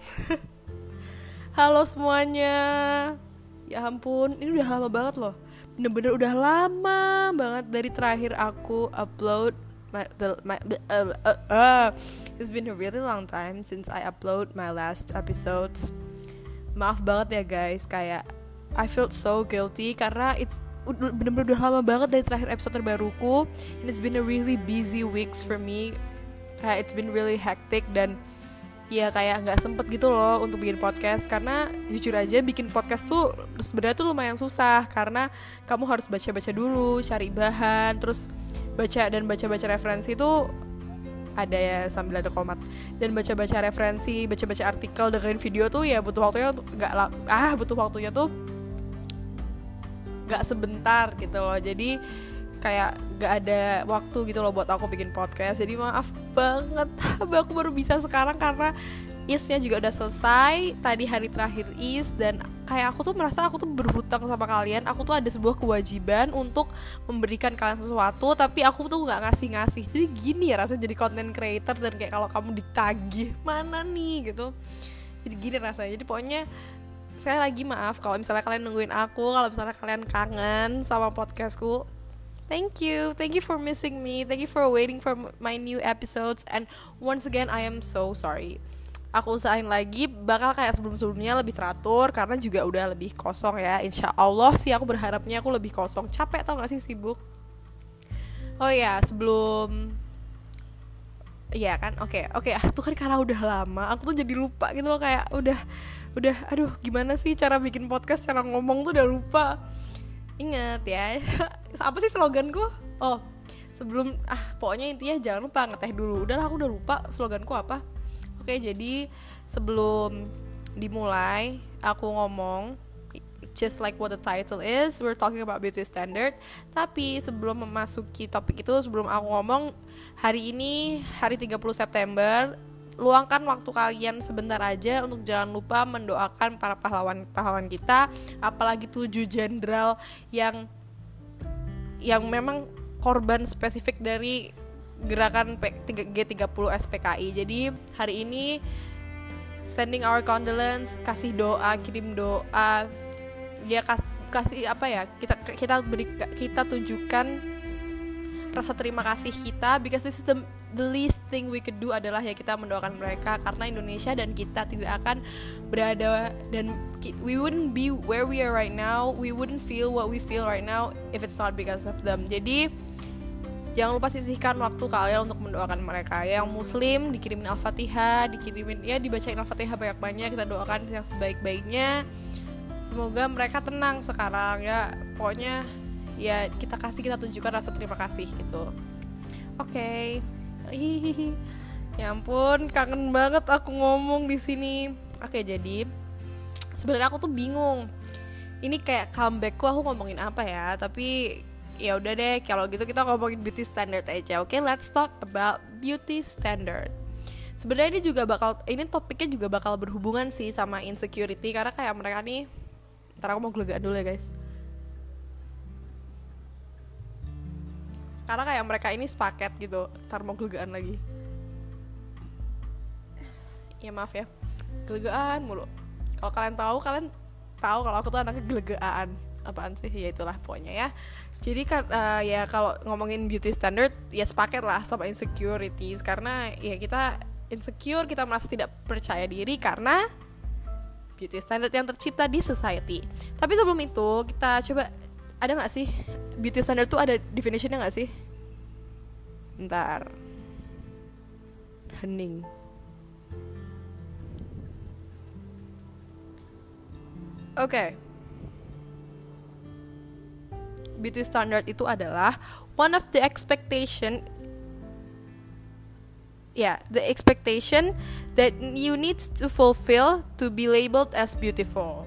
Halo semuanya. Ya ampun, ini udah lama banget loh. Bener-bener udah lama banget dari terakhir aku upload It's been a really long time since I upload my last episodes. Maaf banget ya guys, kayak I felt so guilty karena bener-bener udah lama banget dari terakhir episode terbaruku. And it's been a really busy weeks for me. Kayak it's been really hectic dan ya kayak nggak sempet gitu loh untuk bikin podcast. Karena jujur aja bikin podcast tuh sebenarnya tuh lumayan susah, karena kamu harus baca-baca dulu, cari bahan, terus baca referensi tuh ada ya sambil ada komat, dan baca-baca referensi, baca-baca artikel, dengerin video tuh ya butuh waktunya tuh nggak sebentar gitu loh. Jadi kayak gak ada waktu gitu loh buat aku bikin podcast. Jadi maaf banget, aku baru bisa sekarang karena IS-nya juga udah selesai tadi, hari terakhir IS. Dan kayak aku tuh merasa aku tuh berhutang sama kalian. Aku tuh ada sebuah kewajiban untuk memberikan kalian sesuatu, tapi aku tuh gak ngasih-ngasih. Jadi gini ya rasanya jadi content creator, dan kayak kalau kamu ditagih mana nih gitu, jadi gini rasanya. Jadi pokoknya sekali lagi maaf kalau misalnya kalian nungguin aku, kalau misalnya kalian kangen sama podcastku. Thank you for missing me. Thank you for waiting for my new episodes. And once again, I am so sorry. Aku usahain lagi, bakal kayak sebelum-sebelumnya lebih teratur, karena juga udah lebih kosong ya. Insya Allah sih aku berharapnya aku lebih kosong. Capek tau gak sih, sibuk. Oh ya, iya kan, oke. Tuh kan karena udah lama, aku tuh jadi lupa gitu loh. Kayak udah, aduh gimana sih cara bikin podcast, cara ngomong tuh udah lupa. Ingat ya, apa sih sloganku? Oh, sebelum pokoknya intinya jangan lupa ngeteh dulu. Udahlah, aku udah lupa sloganku apa. Oke, jadi sebelum dimulai aku ngomong, just like what the title is, we're talking about beauty standard. Tapi sebelum memasuki topik itu, sebelum aku ngomong, hari ini hari 30 September, luangkan waktu kalian sebentar aja untuk jangan lupa mendoakan para pahlawan kita, apalagi 7 jenderal yang memang korban spesifik dari gerakan G30 SPKI. Jadi hari ini sending our condolence, kasih doa, kirim doa, ya kasih apa ya, kita tunjukkan rasa terima kasih kita, because this is the least thing we could do adalah ya kita mendoakan mereka, karena Indonesia dan kita tidak akan berada, dan we wouldn't be where we are right now, we wouldn't feel what we feel right now if it's not because of them. Jadi jangan lupa sisihkan waktu kalian untuk mendoakan mereka. Yang muslim dikirimin Al-Fatihah, dibacain Al-Fatihah banyak-banyak, kita doakan yang sebaik-baiknya. Semoga mereka tenang sekarang ya. Pokoknya ya kita tunjukkan rasa terima kasih gitu. Oke. Ya ampun, kangen banget aku ngomong di sini. Oke, jadi sebenarnya aku tuh bingung. Ini kayak comebackku, aku ngomongin apa ya? Tapi ya udah deh, kalau gitu kita ngomongin beauty standard aja. Oke, let's talk about beauty standard. Sebenarnya ini topiknya juga bakal berhubungan sih sama insecurity, karena kayak mereka nih, ntar aku mau gelegaan dulu ya guys. Karena kayak mereka ini sepaket gitu, ntar mau gelegaan lagi. Ya maaf ya, gelegaan mulu. Kalau kalian tahu kalau aku tuh anaknya gelegaan. Apaan sih? Ya itulah pokoknya ya. Jadi kan ya kalau ngomongin beauty standard ya sepaket lah sama insecurities, karena ya kita insecure, kita merasa tidak percaya diri karena beauty standard yang tercipta di society. Tapi sebelum itu kita coba, ada gak sih beauty standard tuh, ada definitionnya gak sih? Bentar, hening. Oke. Beauty standard itu adalah one of the expectation that you need to fulfill to be labeled as beautiful.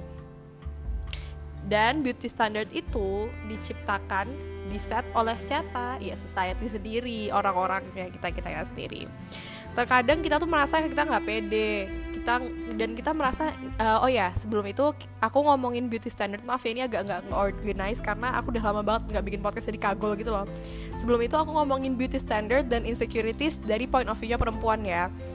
Dan beauty standard itu diciptakan, diset oleh siapa? Ya society sendiri, orang-orangnya, kita sendiri. Terkadang kita tuh merasa kita nggak pede, kita merasa sebelum itu aku ngomongin beauty standard, maaf ya ini agak nggak organize karena aku udah lama banget nggak bikin podcast jadi kagol gitu loh. Sebelum itu aku ngomongin beauty standard dan insecurities dari point of view-nya perempuan ya.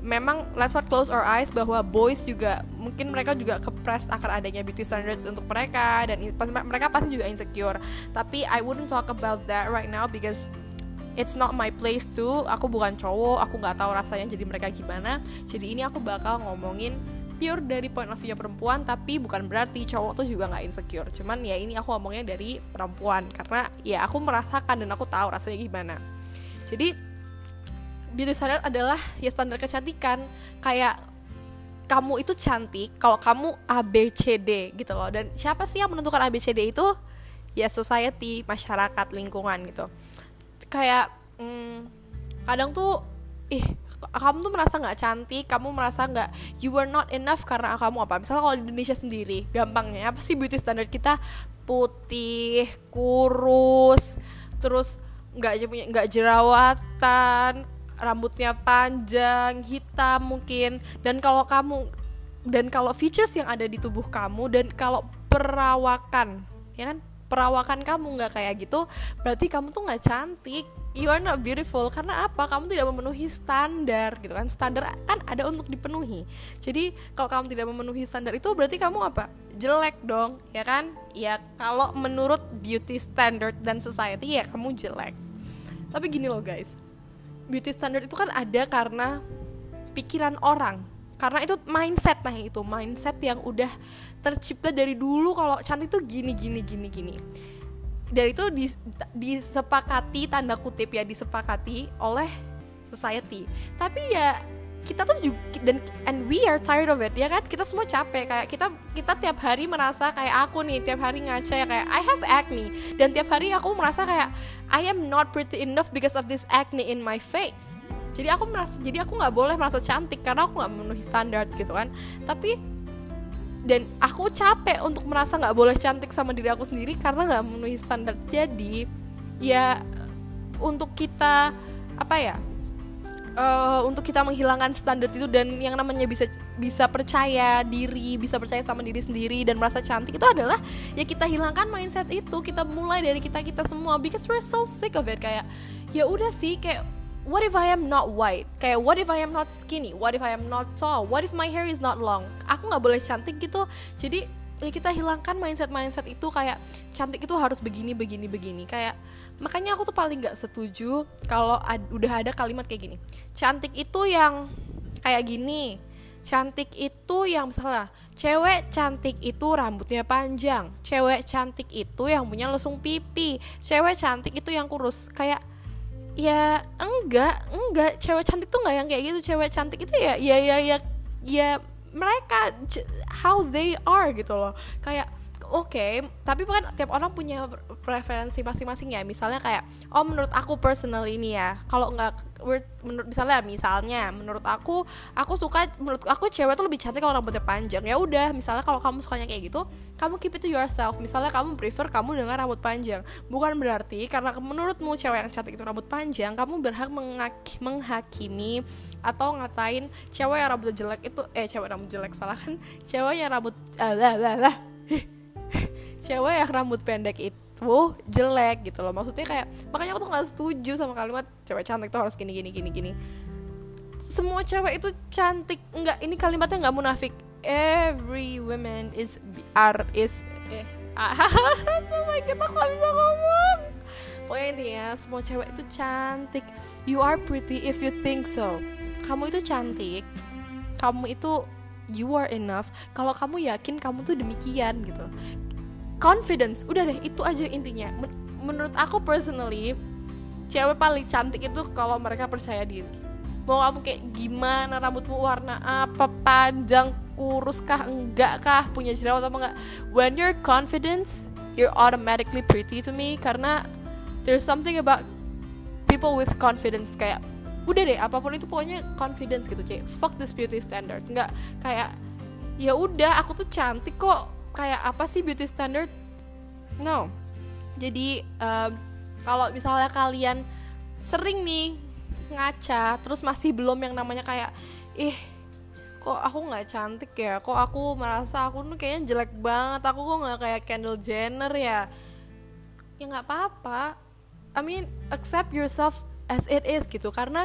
memang let's not close our eyes bahwa boys juga mungkin mereka juga kepressed akan adanya beauty standard untuk mereka, dan mereka pasti juga insecure. Tapi I wouldn't talk about that right now because it's not my place to. Aku bukan cowok, aku nggak tahu rasanya jadi mereka gimana. Jadi ini aku bakal ngomongin pure dari point of view perempuan, tapi bukan berarti cowok tuh juga nggak insecure. Cuman ya ini aku ngomongnya dari perempuan karena ya aku merasakan dan aku tahu rasanya gimana. Jadi beauty standard adalah ya standar kecantikan. Kayak kamu itu cantik kalau kamu ABCD gitu loh. Dan siapa sih yang menentukan ABCD itu? Ya society, masyarakat, lingkungan gitu. Kayak kadang tuh kamu tuh merasa nggak cantik, kamu merasa nggak, you were not enough karena kamu apa? Misalnya kalau di Indonesia sendiri, gampangnya apa sih beauty standard kita? Putih, kurus, terus nggak jerawatan, rambutnya panjang, hitam mungkin. Dan kalau features yang ada di tubuh kamu, dan kalau perawakan, ya kan? Perawakan kamu nggak kayak gitu, berarti kamu tuh nggak cantik. You are not beautiful. Karena apa? Kamu tidak memenuhi standar gitu kan. Standar kan ada untuk dipenuhi. Jadi kalau kamu tidak memenuhi standar itu berarti kamu apa? Jelek dong, ya kan? Ya kalau menurut beauty standard dan society ya kamu jelek. Tapi gini loh guys, beauty standard itu kan ada karena pikiran orang. Karena itu mindset, itu mindset yang udah tercipta dari dulu kalau cantik tuh gini. Dan itu disepakati, tanda kutip ya, disepakati oleh society. Tapi ya kita tuh juga, and we are tired of it, ya kan? Kita semua capek, kayak kita tiap hari merasa kayak aku nih, tiap hari ngaca ya kayak I have acne, dan tiap hari aku merasa kayak I am not pretty enough because of this acne in my face. Jadi aku nggak boleh merasa cantik karena aku nggak memenuhi standar gitu kan. Dan aku capek untuk merasa nggak boleh cantik sama diri aku sendiri karena nggak memenuhi standar. Jadi ya untuk kita untuk kita menghilangkan standar itu, dan yang namanya bisa percaya diri, bisa percaya sama diri sendiri dan merasa cantik, itu adalah ya kita hilangkan mindset itu. Kita mulai dari kita semua, because we're so sick of it. Kayak ya udah sih, kayak what if I am not white? Kayak what if I am not skinny? What if I am not tall? What if my hair is not long? Aku gak boleh cantik gitu. Jadi ya kita hilangkan mindset itu, kayak cantik itu harus begini. Kayak makanya aku tuh paling gak setuju kalau udah ada kalimat kayak gini. Cantik itu yang kayak gini. Cantik itu yang misalnya cewek cantik itu rambutnya panjang. Cewek cantik itu yang punya lesung pipi. Cewek cantik itu yang kurus. Kayak ya enggak, cewek cantik tuh enggak yang kayak gitu. Cewek cantik itu ya mereka how they are gitu loh. Kayak oke, tapi bukan tiap orang punya preferensi masing-masing ya. Misalnya kayak menurut aku personal ini ya, kalau enggak misalnya menurut aku cewek tuh lebih cantik kalau rambutnya panjang. Ya udah, misalnya kalau kamu sukanya kayak gitu, kamu keep it to yourself. Misalnya kamu prefer kamu dengan rambut panjang, bukan berarti karena menurutmu cewek yang cantik itu rambut panjang, kamu berhak menghakimi atau ngatain cewek yang rambut jelek itu cewek yang rambut cewek yang rambut pendek itu jelek gitu loh. Maksudnya kayak, makanya aku tuh gak setuju sama kalimat cewek cantik tuh harus gini. Semua cewek itu cantik. Enggak, ini kalimatnya gak munafik. Every woman is oh my god, aku gak bisa ngomong. Pokoknya intinya semua cewek itu cantik. You are pretty if you think so. Kamu itu cantik, kamu itu you are enough kalau kamu yakin kamu tuh demikian gitu. Confidence, udah deh, itu aja intinya. Menurut aku personally, cewek paling cantik itu kalau mereka percaya diri. Mau kamu kayak gimana, rambutmu warna apa, panjang, kurus kah, enggak kah, punya jerawat apa enggak, when you're confident, you're automatically pretty to me. Karena there's something about people with confidence. Kayak udah deh, apapun itu pokoknya confidence gitu. Kayak fuck this beauty standard. Enggak kayak ya udah, aku tuh cantik kok, kayak apa sih beauty standard? No. Jadi kalau misalnya kalian sering nih ngaca, terus masih belum yang namanya kayak kok aku nggak cantik ya, kok aku merasa aku tuh kayaknya jelek banget, aku kok nggak kayak Kendall Jenner ya nggak apa-apa. I mean, accept yourself as it is gitu. Karena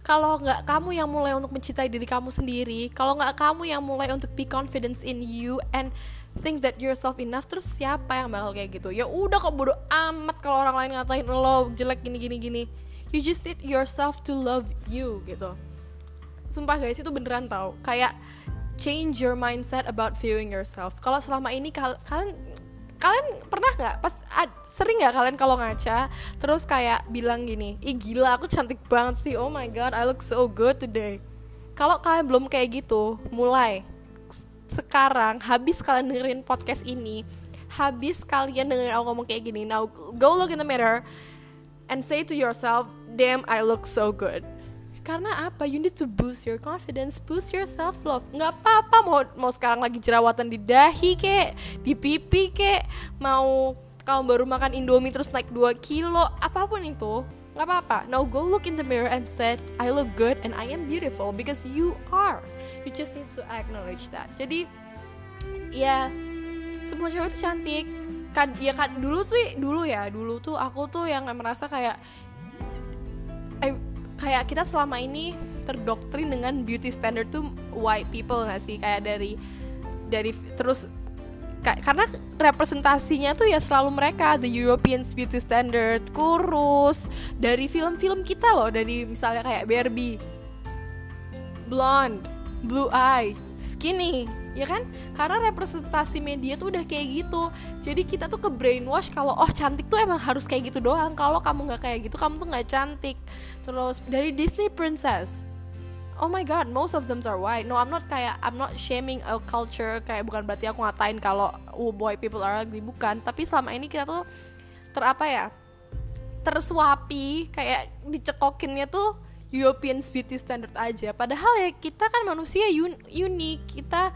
kalau nggak kamu yang mulai untuk mencintai diri kamu sendiri, kalau nggak kamu yang mulai untuk be confident in you and think that you're self enough, terus siapa yang bakal kayak gitu? Ya udah, kok bodo amat kalau orang lain ngatain lo jelek gini. You just need yourself to love you gitu. Sumpah guys, itu beneran tau. Kayak change your mindset about viewing yourself. Kalau selama ini kalian pernah nggak sering nggak kalian kalau ngaca terus kayak bilang gini, ih gila aku cantik banget sih, oh my god I look so good today. Kalau kalian belum kayak gitu, mulai sekarang, habis kalian dengerin podcast ini, habis kalian dengerin aku ngomong kayak gini, now go look in the mirror and say to yourself, damn I look so good. Karena apa? You need to boost your confidence, boost your self love. Nggak apa-apa mau sekarang lagi jerawatan di dahi kek, di pipi kek, mau kamu baru makan Indomie terus naik 2 kilo, apapun itu, nggak apa-apa. Now go look in the mirror and say, I look good and I am beautiful because you are. You just need to acknowledge that. Jadi ya semua cewek itu cantik. Dulu tuh aku tuh yang merasa kayak kita selama ini terdoktrin dengan beauty standard tuh white people nggak sih, kayak dari terus karena representasinya tuh ya selalu mereka, the European beauty standard, kurus, dari film-film kita loh, dari misalnya kayak Barbie, blonde, blue eye, skinny, ya kan? Karena representasi media tuh udah kayak gitu. Jadi kita tuh ke brainwash kalau cantik tuh emang harus kayak gitu doang. Kalau kamu nggak kayak gitu, kamu tuh nggak cantik. Terus dari Disney princess, oh my god, most of them are white. No, I'm not shaming a culture, kayak bukan berarti aku ngatain kalau white people are ugly, bukan. Tapi selama ini kita tuh tersuapi, kayak dicekokinnya tuh European beauty standard aja. Padahal ya kita kan manusia unik,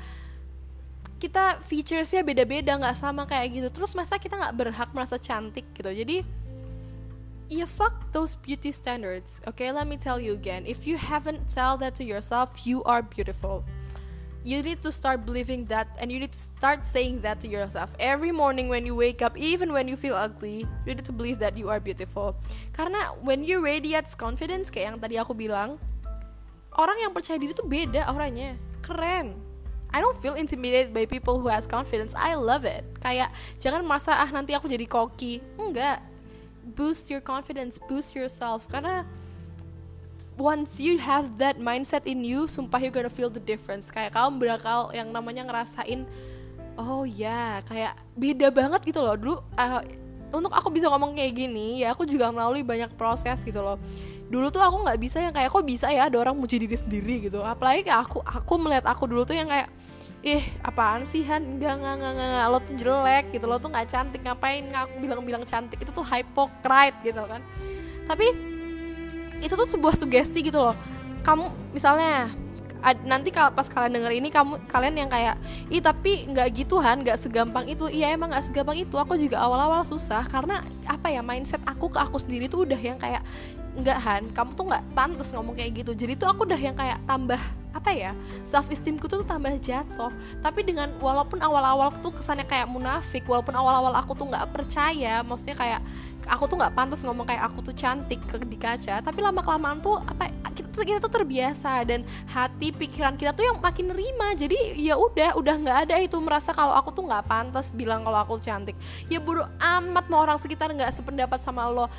kita featuresnya beda-beda, nggak sama kayak gitu. Terus masa kita nggak berhak merasa cantik gitu? Jadi ya fuck those beauty standards. Okay, let me tell you again. If you haven't tell that to yourself, you are beautiful. You need to start believing that, and you need to start saying that to yourself every morning when you wake up, even when you feel ugly. You need to believe that you are beautiful. Karena when you radiate confidence, kayak yang tadi aku bilang, orang yang percaya diri tuh beda auranya, keren. I don't feel intimidated by people who has confidence. I love it. Kayak jangan merasa nanti aku jadi cocky. Enggak. Boost your confidence, boost yourself. Karena once you have that mindset in you, sumpah you're gonna feel the difference. Kayak kamu bakal yang namanya ngerasain, oh ya, kayak beda banget gitu loh. Dulu untuk aku bisa ngomong kayak gini, ya aku juga melalui banyak proses gitu loh. Dulu tuh aku nggak bisa yang kayak, kok bisa ya ada orang muji diri sendiri gitu. Apalagi kayak aku melihat aku dulu tuh yang kayak, apaan sih Han, enggak, lo tuh jelek gitu, lo tuh nggak cantik, ngapain aku bilang cantik, itu tuh hypocrite gitu kan. Tapi itu tuh sebuah sugesti gitu loh. Kamu misalnya nanti kalau pas kalian denger ini, kalian yang kayak, tapi nggak gitu Han, nggak segampang itu. Iya emang nggak segampang itu. Aku juga awal-awal susah karena mindset aku ke aku sendiri tuh udah yang kayak, enggak Han, kamu tuh nggak pantas ngomong kayak gitu. Jadi tuh aku udah yang kayak tambah self esteemku tuh tambah jatuh. Tapi dengan walaupun awal-awal tuh kesannya kayak munafik, walaupun awal-awal aku tuh nggak percaya, maksudnya kayak aku tuh nggak pantas ngomong kayak aku tuh cantik di kaca, tapi lama-kelamaan tuh kita tuh terbiasa, dan hati pikiran kita tuh yang makin nerima. Jadi ya udah nggak ada itu merasa kalau aku tuh nggak pantas bilang kalau aku cantik. Ya bodo amat mau orang sekitar nggak sependapat sama lo.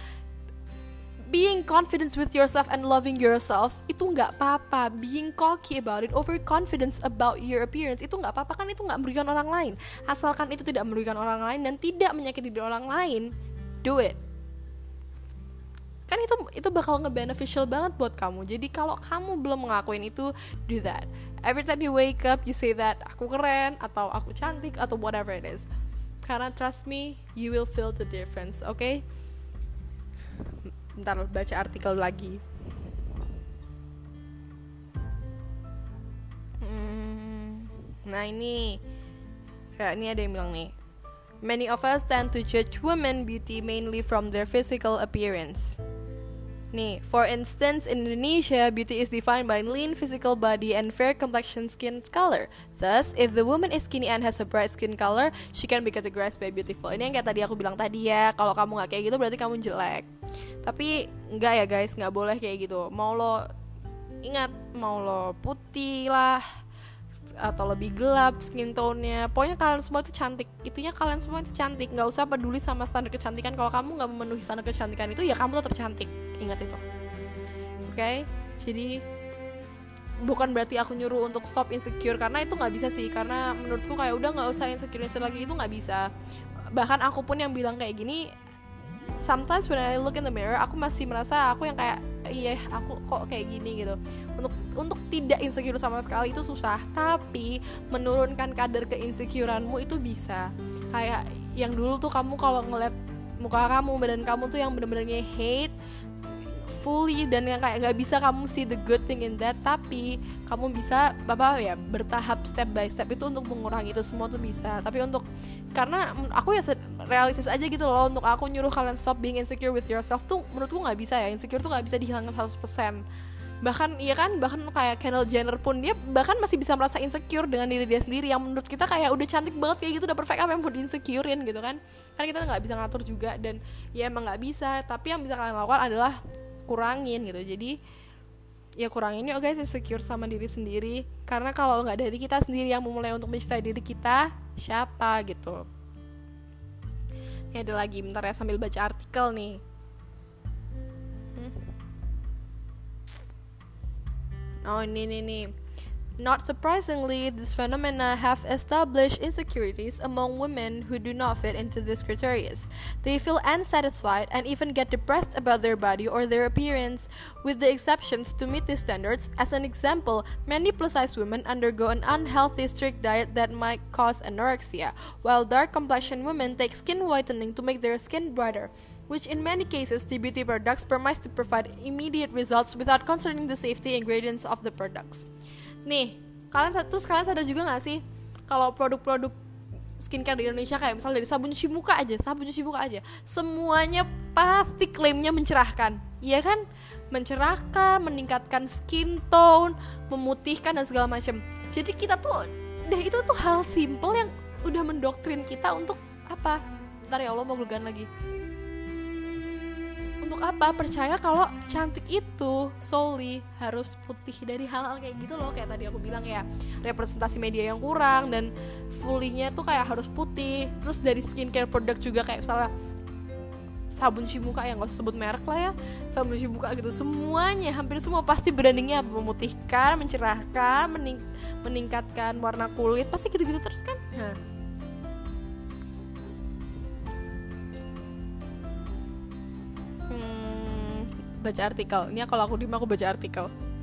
Being confident with yourself and loving yourself itu nggak apa-apa. Being cocky about it, overconfidence about your appearance itu nggak apa-apa, kan itu nggak merugikan orang lain. Asalkan itu tidak merugikan orang lain dan tidak menyakiti diri orang lain, do it. Kan itu bakal nge-beneficial banget buat kamu. Jadi kalau kamu belum ngelakuin itu, do that. Every time you wake up, you say that aku keren, atau aku cantik, atau whatever it is. Karena trust me, you will feel the difference, okay? Bentar, baca artikel lagi. Nah ini ada yang bilang nih, many of us tend to judge women beauty mainly from their physical appearance. Nih, for instance, in Indonesia, beauty is defined by lean physical body and fair complexion skin color. Thus, if the woman is skinny and has a bright skin color, she can be categorized by beautiful. Ini yang kayak tadi aku bilang tadi ya, kalau kamu nggak kayak gitu berarti kamu jelek. Tapi enggak ya guys, nggak boleh kayak gitu. Mau lo Ingat, mau lo putih lah atau lebih gelap skin tone-nya, pokoknya kalian semua itu cantik. Intinya kalian semua itu cantik. Gak usah peduli sama standar kecantikan. Kalau kamu gak memenuhi standar kecantikan itu, ya kamu tetap cantik. Ingat itu. Oke? Jadi bukan berarti aku nyuruh untuk stop insecure, karena itu gak bisa sih. Karena menurutku kayak udah gak usah insecure lagi, itu gak bisa. Bahkan aku pun yang bilang kayak gini, sometimes when I look in the mirror, aku masih merasa aku yang kayak, iya aku kok kayak gini gitu. Untuk tidak insecure sama sekali itu susah, tapi menurunkan kadar keinsecureanmu itu bisa. Kayak yang dulu tuh kamu kalau ngeliat muka kamu, badan kamu tuh yang bener-bener hate fully, dan yang kayak nggak bisa kamu see the good thing in that, tapi kamu bisa bertahap step by step itu untuk mengurangi itu semua tuh bisa. Tapi karena aku ya realistis aja gitu loh, untuk aku nyuruh kalian stop being insecure with yourself tuh menurutku nggak bisa ya. Insecure tuh nggak bisa dihilangkan 100%. Bahkan kayak Kendall Jenner pun dia bahkan masih bisa merasa insecure dengan diri dia sendiri, yang menurut kita kayak udah cantik banget kayak gitu, udah perfect, apa yang mau di-insecurein gitu kan kita nggak bisa ngatur juga, dan ya emang nggak bisa. Tapi yang bisa kalian lakukan adalah kurangin gitu. Jadi ya kurangin yuk guys insecure sama diri sendiri, karena kalau nggak dari kita sendiri yang memulai untuk mencintai diri kita, siapa gitu. Ini ada lagi, bentar ya sambil baca artikel nih. Oh ini. Not surprisingly, this phenomena have established insecurities among women who do not fit into these criteria. They feel unsatisfied and even get depressed about their body or their appearance, with the exceptions to meet these standards. As an example, many plus-size women undergo an unhealthy strict diet that might cause anorexia, while dark-complexioned women take skin whitening to make their skin brighter, which in many cases the beauty products promise to provide immediate results without concerning the safety ingredients of the products. Nih, kalian sadar juga gak sih kalau produk-produk skincare di Indonesia kayak misalnya dari sabun cuci muka aja semuanya pasti klaimnya mencerahkan, iya kan? Mencerahkan, meningkatkan skin tone, memutihkan dan segala macam. Jadi kita tuh itu tuh hal simple yang udah mendoktrin kita untuk apa? Bentar ya Allah, mau gelegan lagi. Untuk apa? Percaya kalau cantik itu solely harus putih, dari hal-hal kayak gitu loh. Kayak tadi aku bilang ya, representasi media yang kurang, dan fully-nya tuh kayak harus putih. Terus dari skincare product juga kayak misalnya sabun cuci muka, yang gak usah sebut merek lah ya, sabun cuci muka gitu, semuanya, hampir semua pasti brandingnya memutihkan, mencerahkan, meningkatkan warna kulit, pasti gitu-gitu terus kan. Baca artikel. Ini kalau aku aku baca artikel.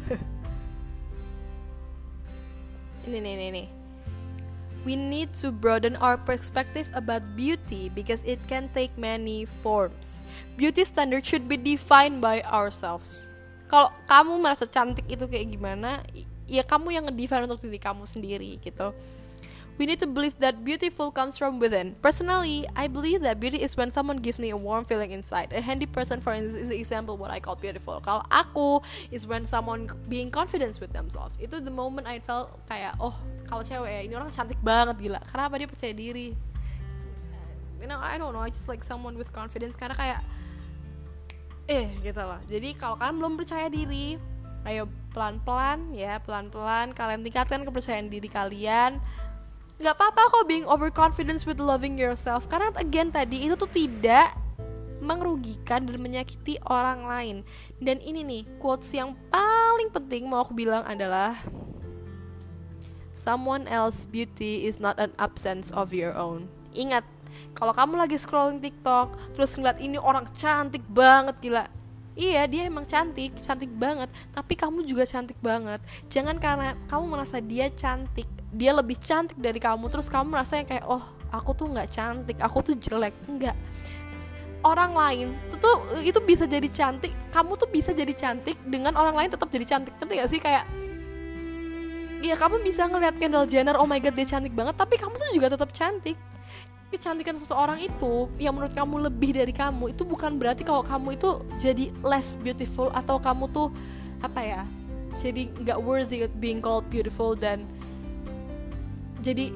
Ini. We need to broaden our perspective about beauty because it can take many forms. Beauty standard should be defined by ourselves. Kalau kamu merasa cantik itu kayak gimana, ya kamu yang ngedefine untuk diri kamu sendiri gitu. We need to believe that beautiful comes from within. Personally, I believe that beauty is when someone gives me a warm feeling inside. A handy person, for instance, is an example what I call beautiful. Kalau aku, is when someone being confident with themselves. Itu the moment I tell kayak, oh, kalau cewek ya, ini orang cantik banget, gila. Karena apa? Dia percaya diri. You know, I don't know, I just like someone with confidence. Karena kayak, gitu loh. Jadi kalau kalian belum percaya diri, ayo pelan-pelan kalian tingkatkan kepercayaan diri kalian. Gak apa-apa kok being overconfident with loving yourself, karena again tadi itu tuh tidak merugikan dan menyakiti orang lain. Dan ini nih quotes yang paling penting mau aku bilang adalah, someone else's beauty is not an absence of your own. Ingat, kalau kamu lagi scrolling TikTok terus ngeliat ini orang cantik banget, gila, iya dia emang cantik banget, tapi kamu juga cantik banget. Jangan karena kamu merasa dia lebih cantik dari kamu, terus kamu merasa yang kayak, oh aku tuh gak cantik, aku tuh jelek. Enggak, orang lain itu bisa jadi cantik, kamu tuh bisa jadi cantik dengan orang lain tetap jadi cantik. Ngerti gak sih? Kayak, iya kamu bisa ngeliat Kendall Jenner, oh my god dia cantik banget, tapi kamu tuh juga tetap cantik. Kecantikan seseorang itu yang menurut kamu lebih dari kamu, itu bukan berarti kalau kamu itu jadi less beautiful, atau kamu tuh jadi gak worthy of being called beautiful, dan jadi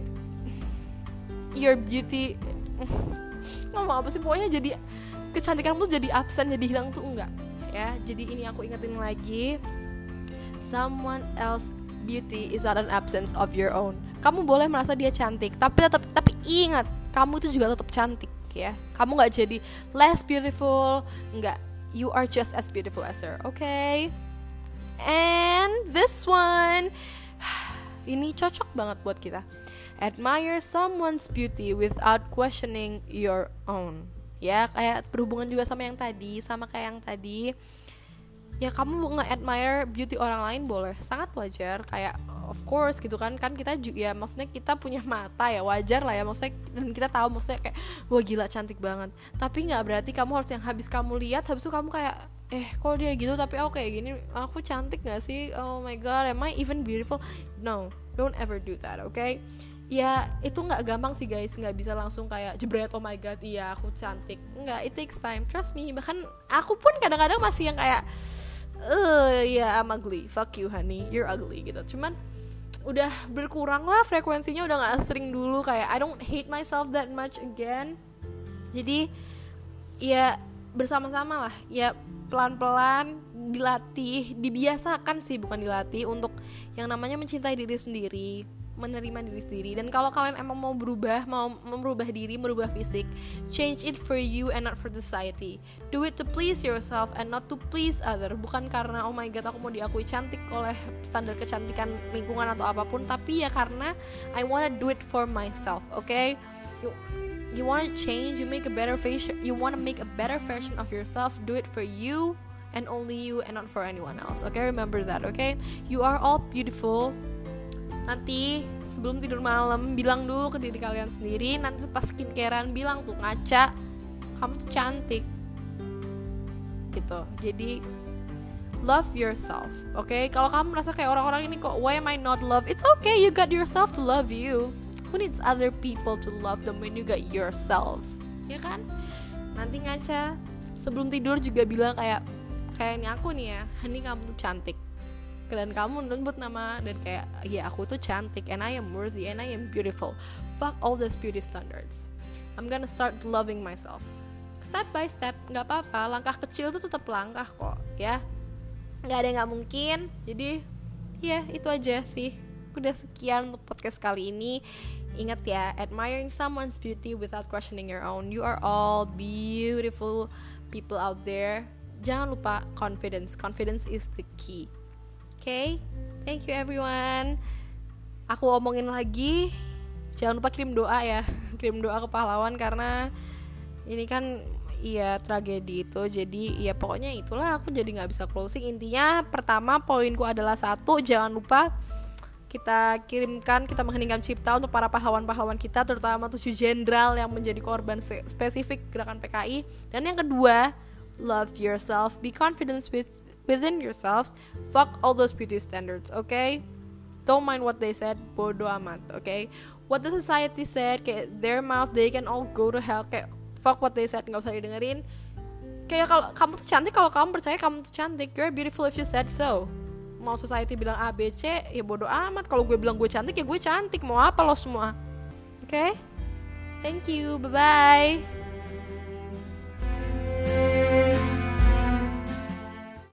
your beauty ngomong apa sih, pokoknya jadi kecantikanmu tuh jadi absen, jadi hilang tuh enggak ya. Jadi ini aku ingetin lagi, Someone else beauty is not an absence of your own. Kamu boleh merasa dia cantik, tapi ingat, kamu itu juga tetap cantik ya. Kamu nggak jadi less beautiful, nggak. You are just as beautiful as her, okay? And this one, ini cocok banget buat kita. Admire someone's beauty without questioning your own. Ya, kayak berhubungan juga sama kayak yang tadi. Ya, kamu nge-admire beauty orang lain boleh, sangat wajar. Kayak of course gitu kan kita juga ya, maksudnya kita punya mata ya, wajar lah ya, maksudnya, dan kita tahu maksudnya kayak wah gila cantik banget. Tapi nggak berarti kamu harus yang habis kamu lihat habis itu kamu kayak kok dia gitu tapi aku kayak gini, aku cantik nggak sih, oh my god, am I even beautiful? No, don't ever do that, okay? Ya itu nggak gampang sih guys, nggak bisa langsung kayak jebret oh my god iya aku cantik, nggak, it takes time, trust me. Bahkan aku pun kadang-kadang masih yang kayak yeah I'm ugly, fuck you honey, you're ugly gitu. Cuman udah berkurang lah frekuensinya, udah nggak sering dulu, kayak I don't hate myself that much again. Jadi ya bersama-sama lah ya, pelan-pelan dilatih, dibiasakan sih, bukan dilatih, untuk yang namanya mencintai diri sendiri, menerima diri sendiri. Dan kalau kalian emang mau merubah diri, merubah fisik, change it for you and not for society. Do it to please yourself and not to please other. Bukan karena oh my god aku mau diakui cantik oleh standar kecantikan lingkungan atau apapun, tapi ya karena I wanna do it for myself, okay? You wanna change, you make a better version, you wanna make a better version of yourself, do it for you and only you and not for anyone else, okay? Remember that, okay? You are all beautiful. Nanti sebelum tidur malam bilang dulu ke diri kalian sendiri, nanti pas skincarean bilang tuh ngaca, kamu tuh cantik gitu. Jadi love yourself, okay? Kalau kamu merasa kayak orang-orang ini kok why am I not loved, it's okay, you got yourself to love you. Who needs other people to love them when you got yourself, ya kan? Nanti ngaca sebelum tidur juga bilang kayak ini aku nih ya, ini kamu tuh cantik, dan kamu nyebut nama, dan kayak ya aku tuh cantik, and I am worthy and I am beautiful. Fuck all these beauty standards, I'm gonna start loving myself step by step. Nggak apa-apa, langkah kecil tuh tetap langkah kok ya, nggak ada yang nggak mungkin. Jadi ya itu aja sih, udah sekian untuk podcast kali ini. Ingat ya, admiring someone's beauty without questioning your own. You are all beautiful people out there. Jangan lupa confidence is the key. Okay, thank you everyone. Aku omongin lagi, jangan lupa kirim doa ya, kirim doa ke pahlawan, karena ini kan iya tragedi itu. Jadi ya pokoknya itulah, aku jadi nggak bisa closing. Intinya pertama poinku adalah 1, jangan lupa kita mengheningkan cipta untuk para pahlawan-pahlawan kita, terutama 7 jenderal yang menjadi korban spesifik gerakan PKI. Dan yang kedua, love yourself, be confident within yourselves, fuck all those beauty standards, okay? Don't mind what they said, bodo amat, okay? What the society said, kayak their mouth, they can all go to hell, kayak fuck what they said, gak usah didengerin. Kayak kalau kamu tuh cantik, kalau kamu percaya kamu tuh cantik, you're beautiful if you said so. Mau society bilang A, B, C, ya bodo amat. Kalau gue bilang gue cantik, ya gue cantik. Mau apa lo semua? Okay? Thank you, bye-bye.